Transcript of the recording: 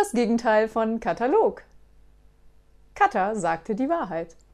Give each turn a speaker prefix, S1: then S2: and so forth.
S1: das Gegenteil von Katalog. Katha sagte die Wahrheit.